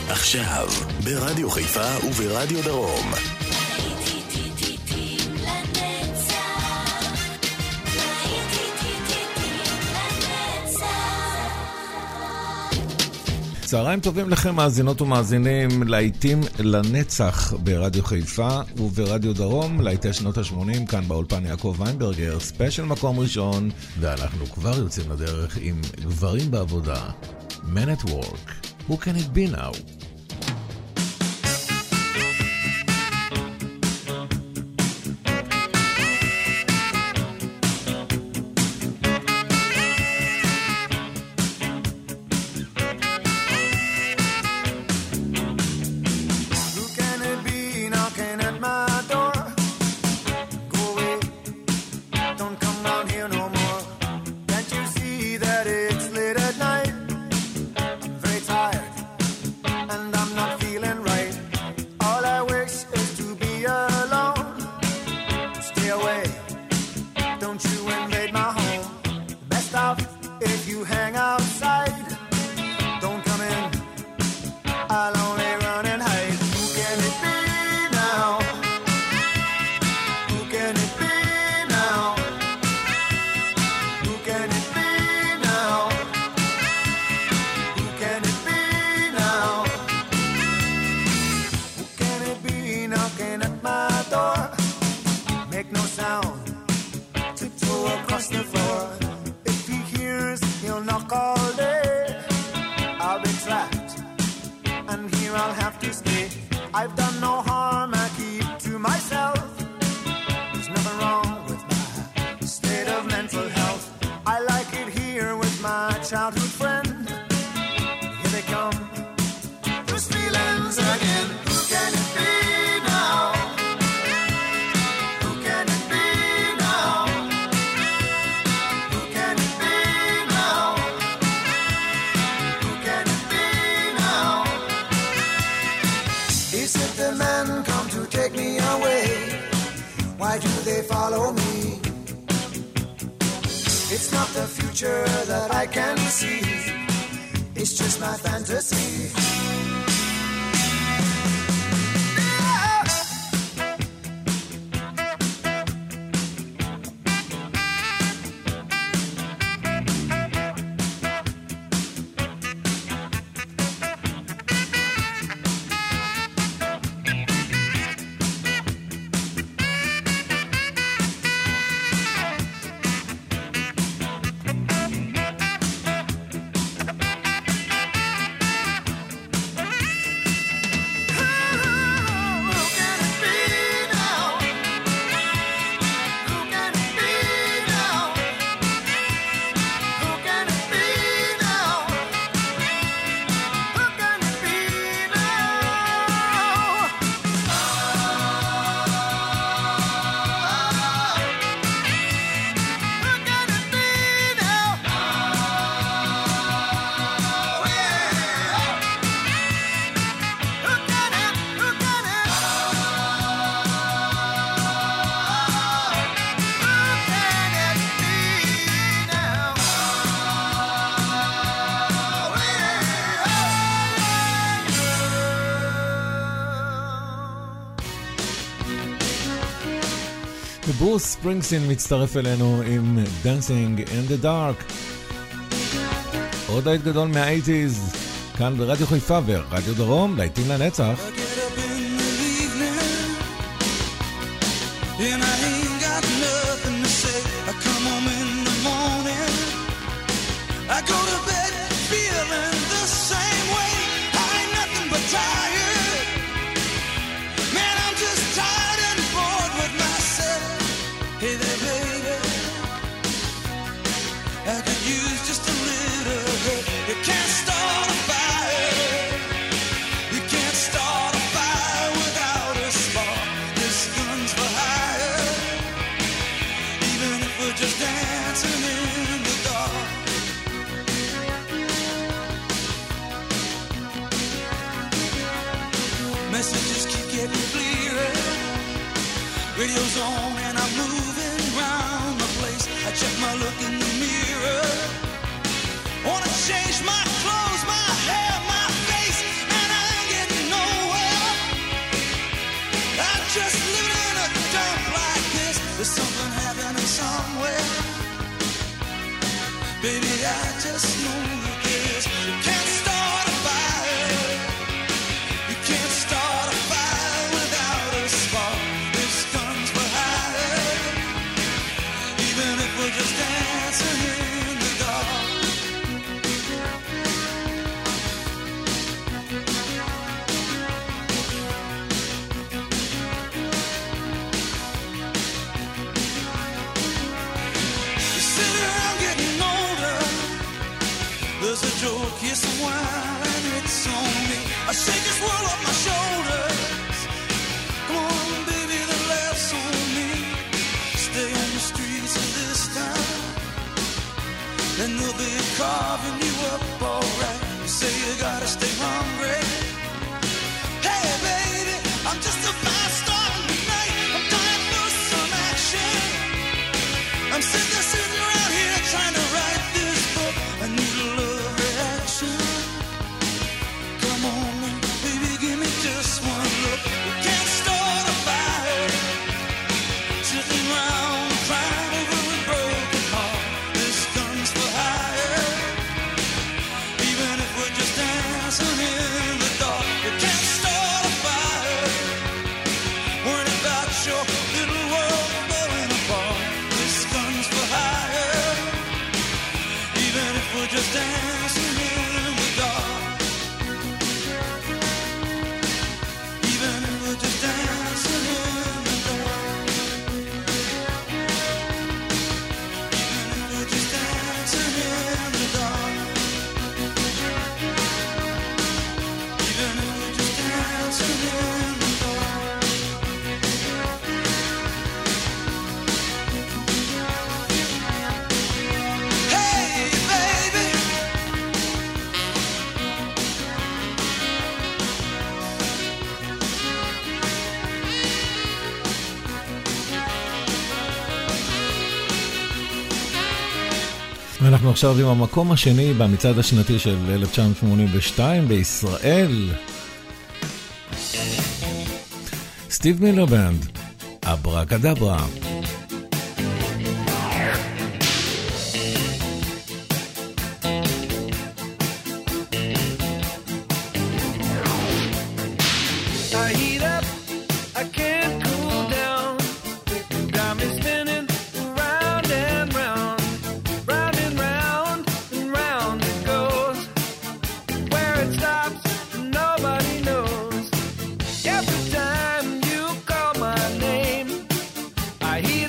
עכשיו, ברדיו חיפה וברדיו דרום. צהריים טובים לכם מאזינות ומאזינים, להיטים לנצח ברדיו חיפה וברדיו דרום, להיטי שנות ה-80, כאן באולפן יעקב ויינברגר, ספיישל מקום ראשון, ואנחנו כבר יוצאים לדרך עם גברים בעבודה, Men at Work, Who Can It Be Now? ברוס ספרינגסטין מצטרף אלינו עם Dancing in the Dark. עוד להיט גדול מה-80s, כאן ברדיו חיפה ורדיו דרום, להיטים לנצח. Radio's on and I'm moving around the place. I check my look in the mirror. Wanna change my clothes, my hair, my face, and I ain't I just know that this. You can't start a fire. You can't start a fire without a spark. This gun's for hire. Even if we're just dancing in the dark. You sit around getting older. There's a joke, yes, a while, and it's on me. I shake this world off my shoulders. Come on, baby, the laugh's on me. Stay on the streets of this town, and they'll be carving you up alright. You say you gotta stay hungry. Hey, baby, I'm just a fast star tonight. I'm dying for some action. I'm sitting around here trying to write this book. I need a love reaction. Come on, baby, give me just one look. You can't start a fire. Sitting around crying over a broken heart. This gun's for hire. Even if we're just dancing in the dark. You can't start a fire. Worrying about your little world falling apart. This gun's for hire. Even if we're just dancing in the dark. Even if we're just dancing in the dark. Even if we're just dancing in the dark. Even if we're just dancing in the dark. Hey, baby. ואנחנו עכשיו עם המקום השני במצעד השנתי של 1982 בישראל. סטיב מילר בנד, אברקדברה. I heat up, I can't cool down. Got me spinning round and round, round and round and round it goes. Where it stops, nobody knows. Every time you call my name, I hear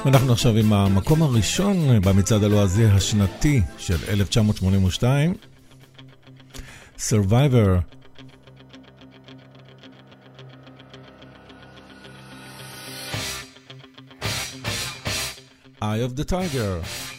ואנחנו עכשיו עם המקום הראשון במצעד הלועזי השנתי של 1982, Survivor. Eye of the Tiger.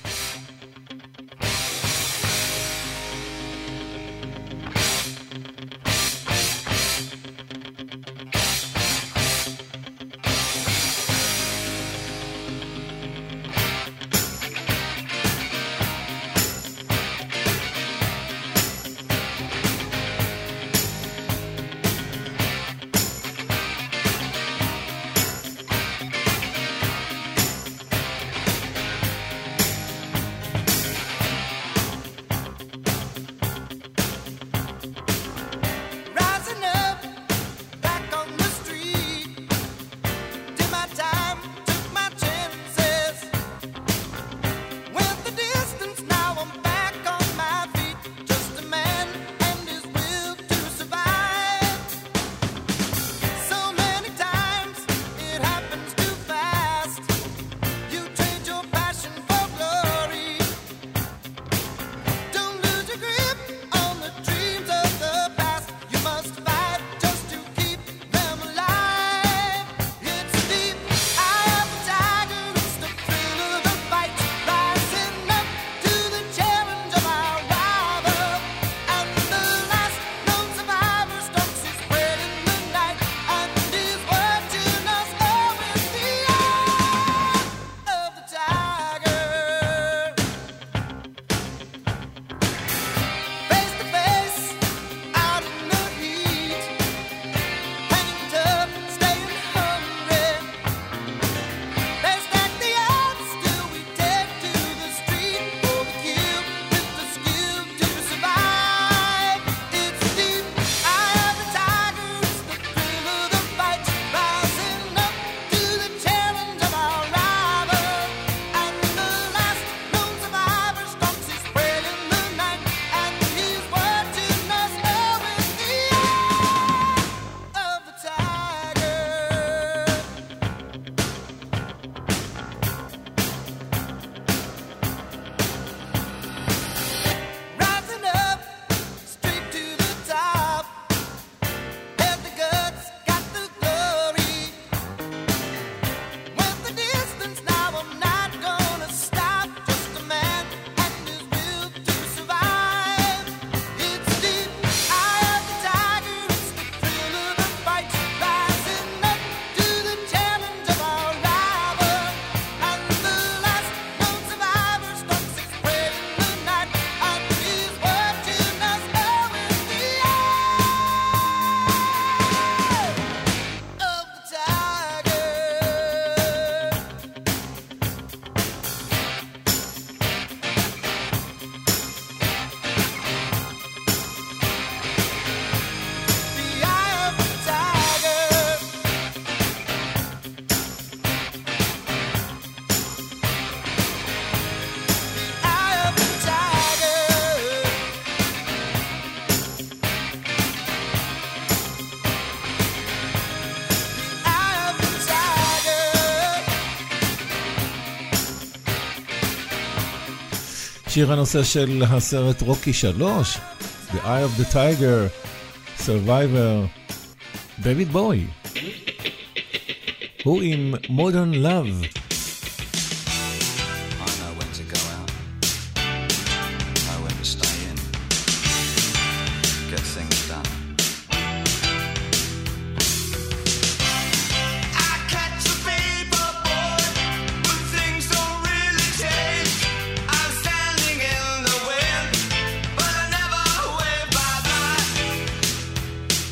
שיר הנושא של הסרט רוקי 3, The Eye of the Tiger, Survivor, דויד בוי. הוא עם Modern Love.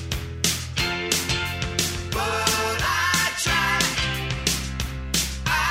I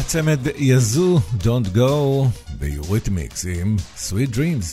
צמד יזו, Don't Go, ביוריתמיקס עם Sweet Dreams.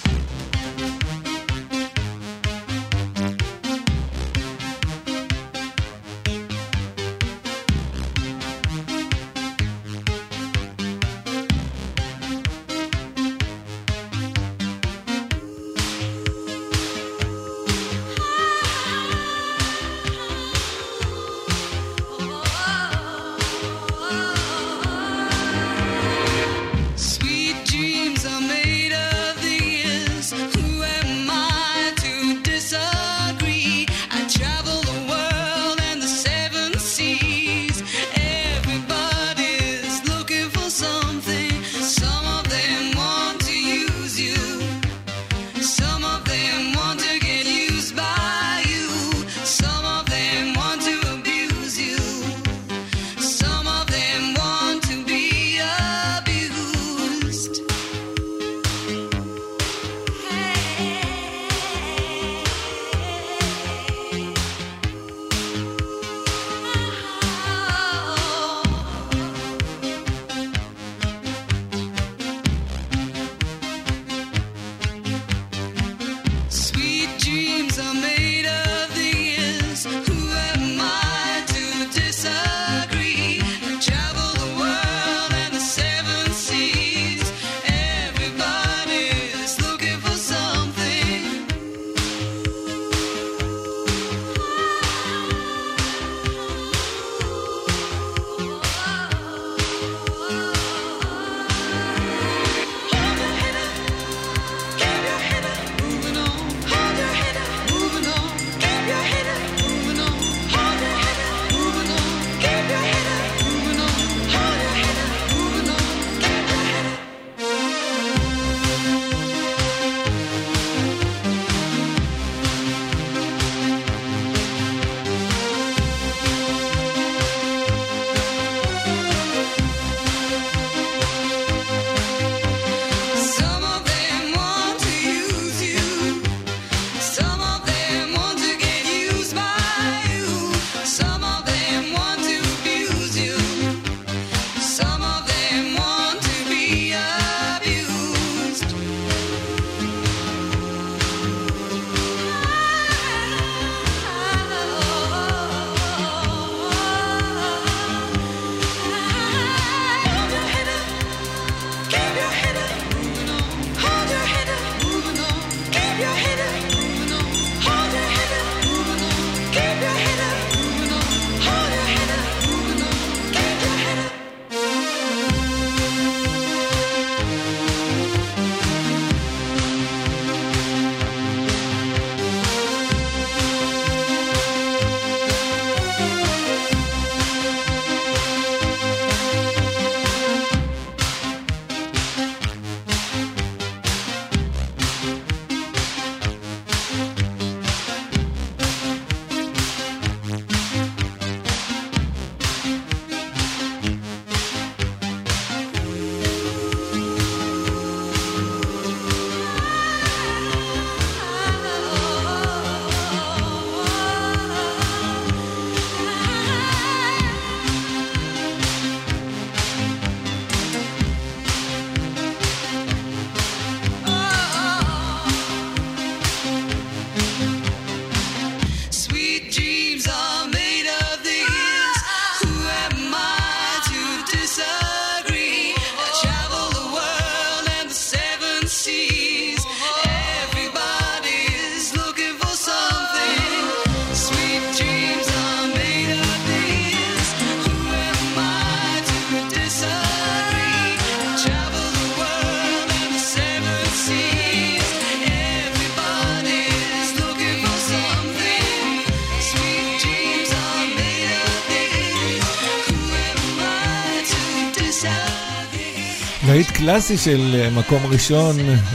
להיט קלאסי של מקום ראשון,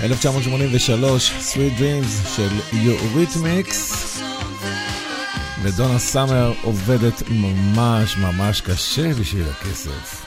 1983, Sweet Dreams של יוריתמיקס. ודונה סאמר עובדת ממש ממש קשה בשביל הכסף.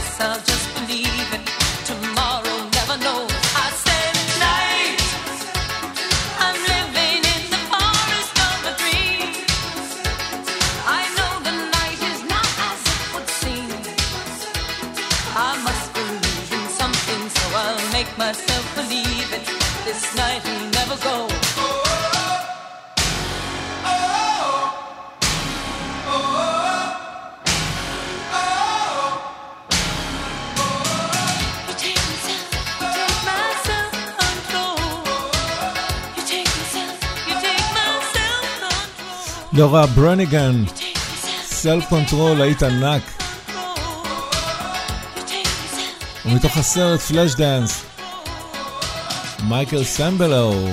guess I'll just believe it. Tomorrow never knows. I said night. I'm living in the forest of a dream. I know the night is not as it would seem. I must believe in something, so I'll make myself believe it. This night will never go. לורה ברניגן, סלף קונטרול, היית ענק. ומתוך הסרט פלאש דאנס, מייקל סמבלו.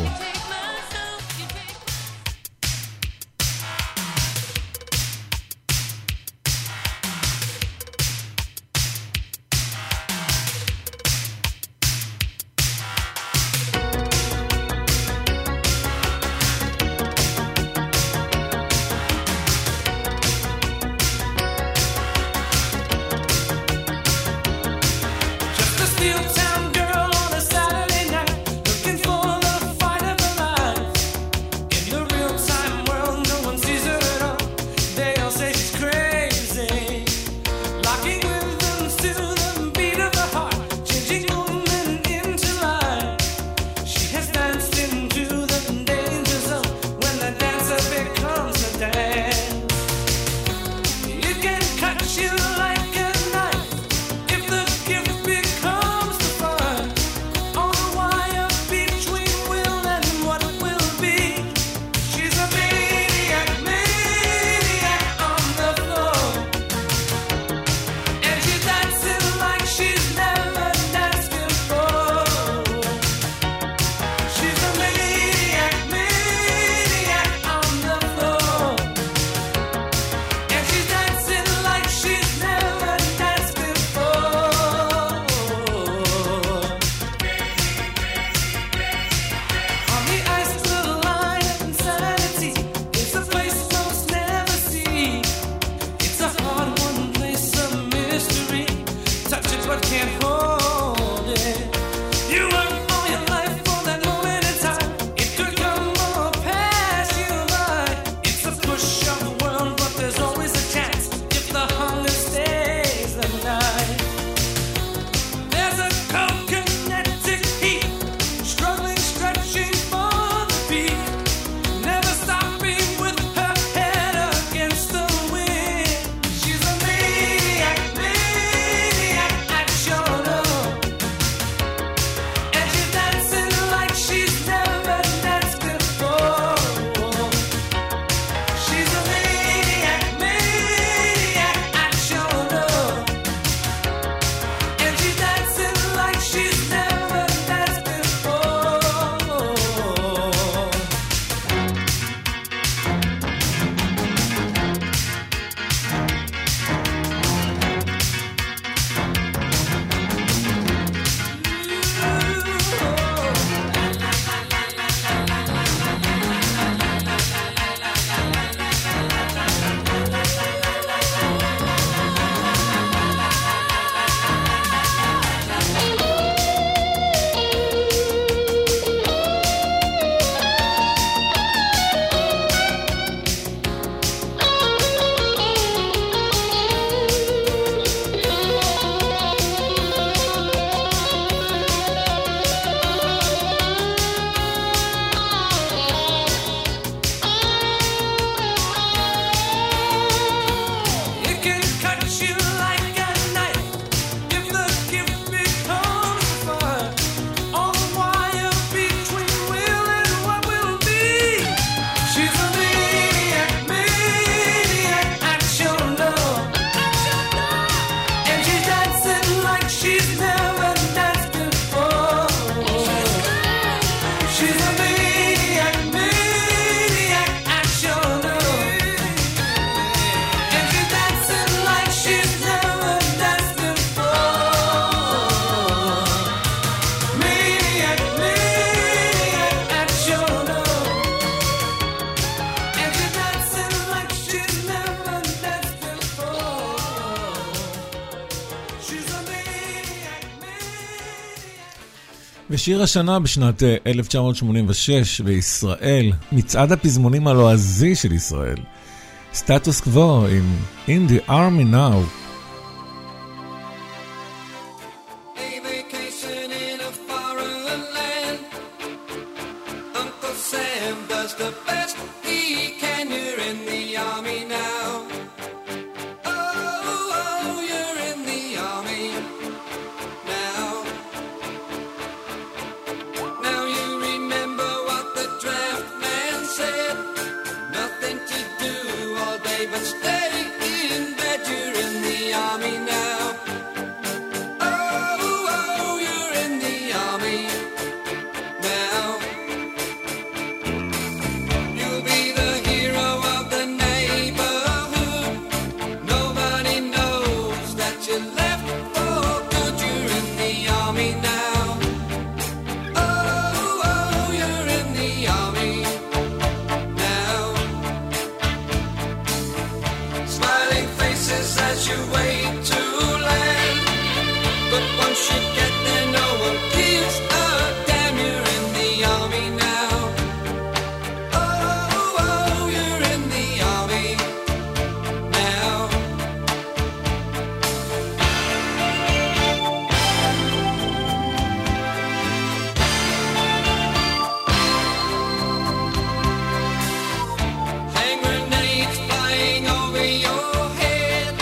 You like a knife if the gift becomes the ושיר השנה בשנת 1986 בישראל, מצעד הפזמונים הלועזי של ישראל, סטטוס קוו עם In the Army Now. A vacation in a foreign land. Uncle Sam does the best he can. You're in the army now. Oh, oh, you're in the army now. Now you remember what the draft man said. Nothing to do all day but stay in bed. You're in the army now. Oh, oh, you're in the army now. You'll be the hero of the neighborhood. Nobody knows that you left for good. You're in the army now. Oh, oh, you're in the army now. Smiling faces as you wait to land. But once you get there, no one gives a damn. You're in the army now. Oh, oh, you're in the army now. Hand grenades flying over your head.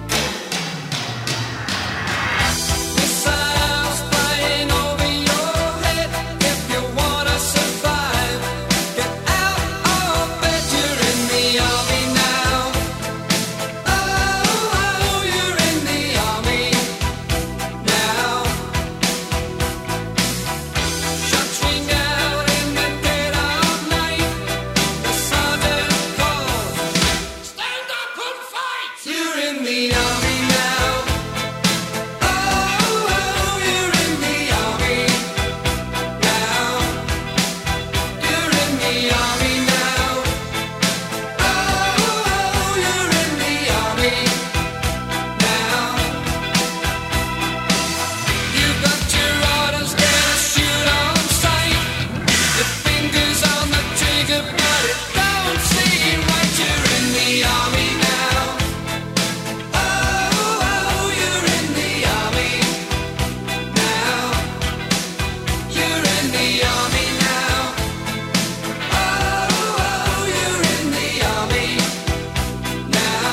Missiles flying over your head. If you wanna survive, get out of bed. You're in the army now. Oh, oh, you're in the army now. Shots ring out in the dead of night. The sergeant calls, stand up and fight. You're in the army now. Oh, oh, you're in the army now. You're in the army now. Oh, oh, you're in the army now. You've got your orders, get a shoot on sight. Your fingers on the trigger, but it don't seem right. You're in the army now. Oh, oh, you're in the army now. You're in the army now. Oh, oh, you're in the army now.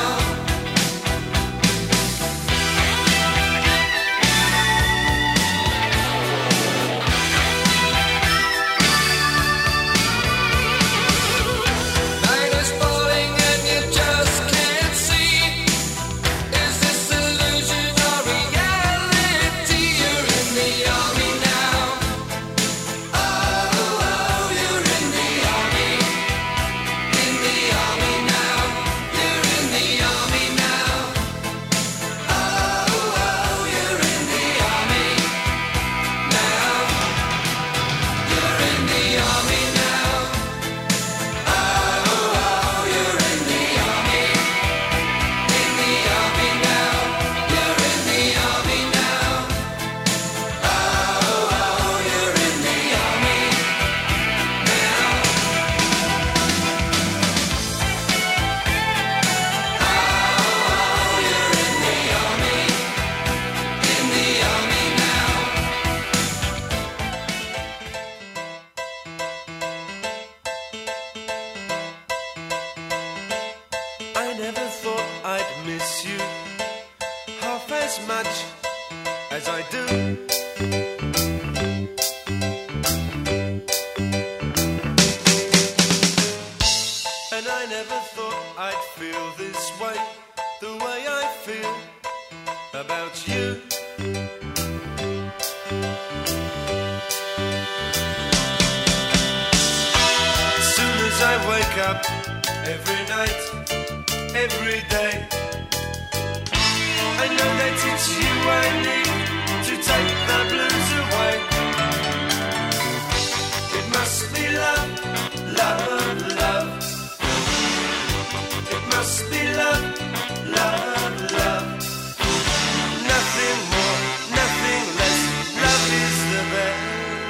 Night is falling and you just can't see. Is this illusion or reality? You're in the army now. Oh, oh, you're in the army. In the army now. You're in the army now. Oh, oh, you're in the army now. You're in the army now. Oh, oh, you're in the army. In the army now. You're in the army now. Oh, oh, you're in the army now. Oh, you're in the army. In the army now. I never thought I'd miss you half as much as I do. And I never thought I'd feel this way, the way I feel about you. As soon as I wake up every night, every day, I know that it's you I need to take the blues away. It must be love, love, love. It must be love, love, love. Nothing more, nothing less. Love is the best.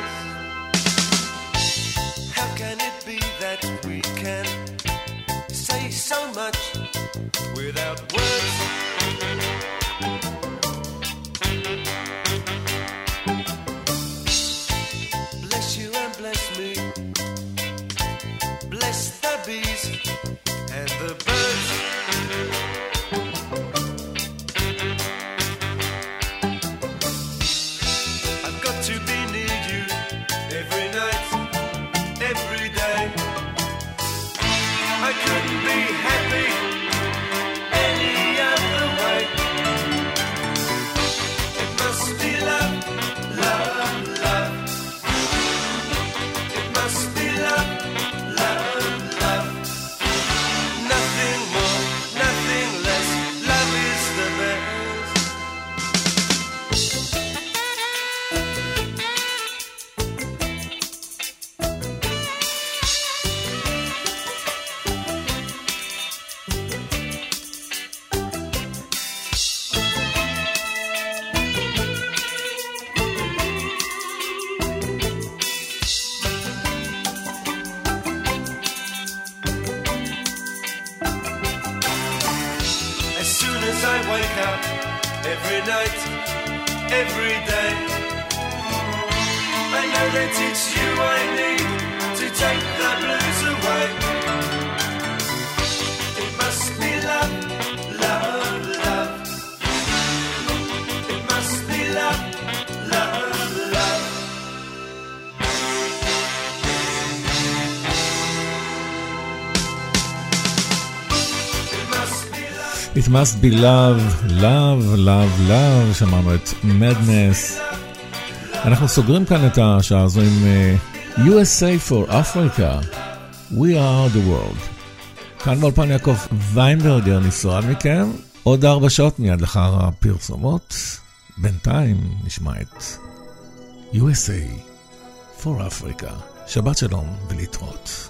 wake up every night, every day. I know that it's you I need to take the blues away. It must be love, love, love. It must be love, love, love. It must be love, love, love, love. שמענו את Madness. אנחנו סוגרים כאן את השעה הזו עם USA for Africa, We are the world. כאן באולפן יעקב ויינברגר נפרד מכם. עוד 4 שעות מיד לאחר הפרסומות. בינתיים נשמע את USA for Africa. שבת שלום ולהתראות.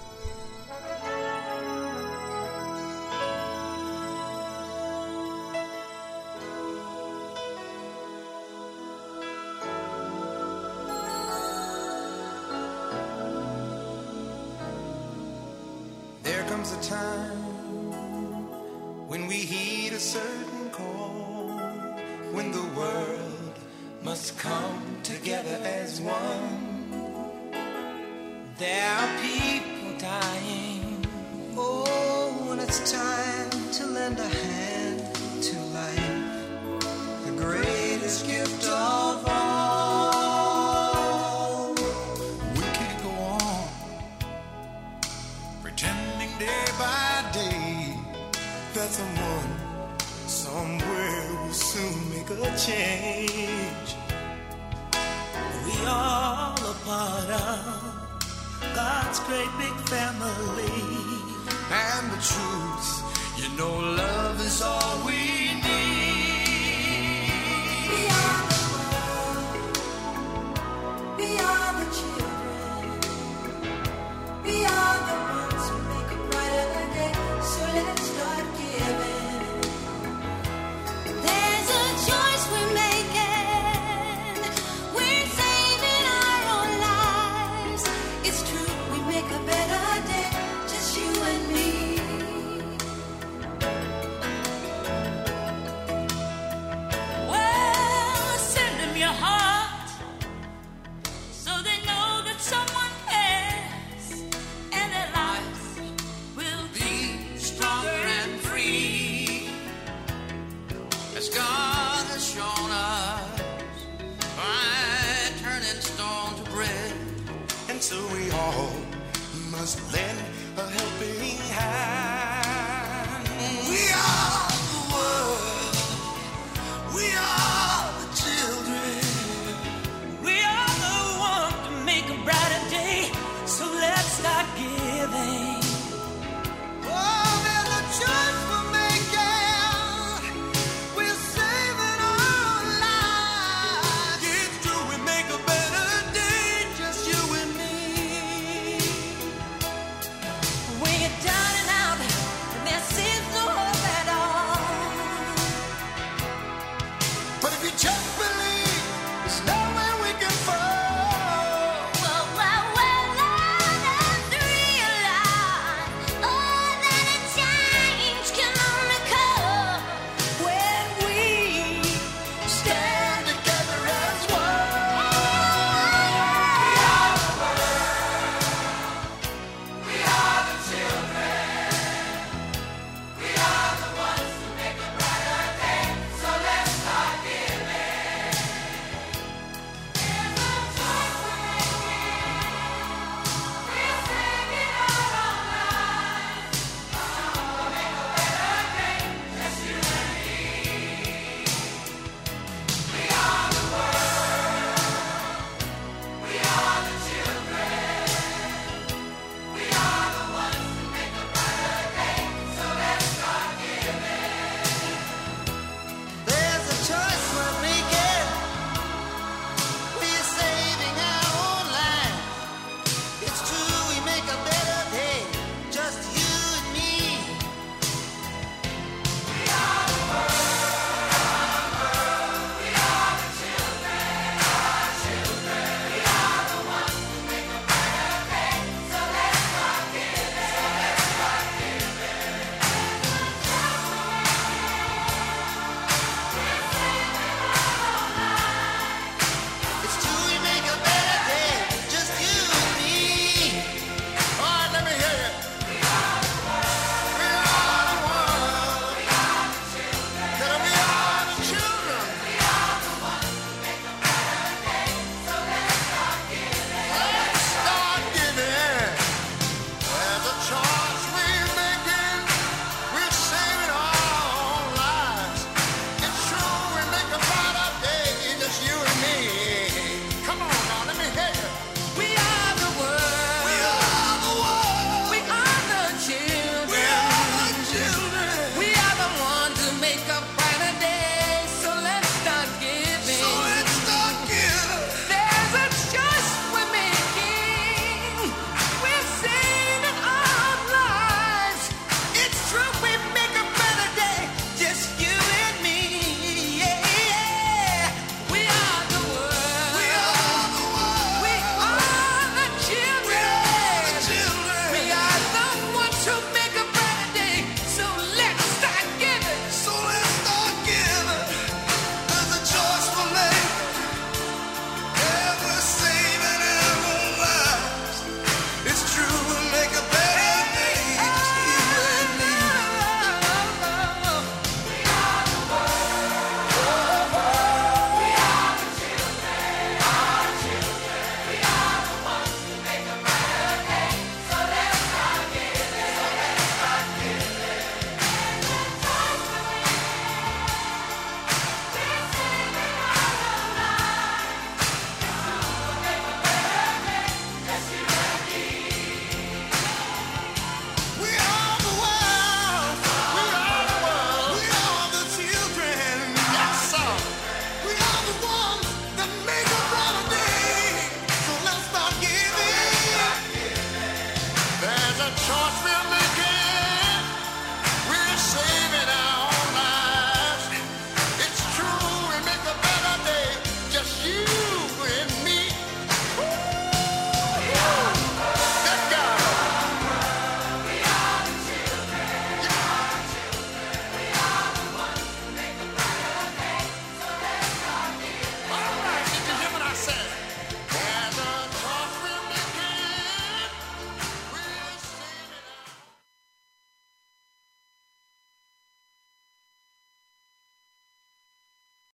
So we all must lend a helping hand.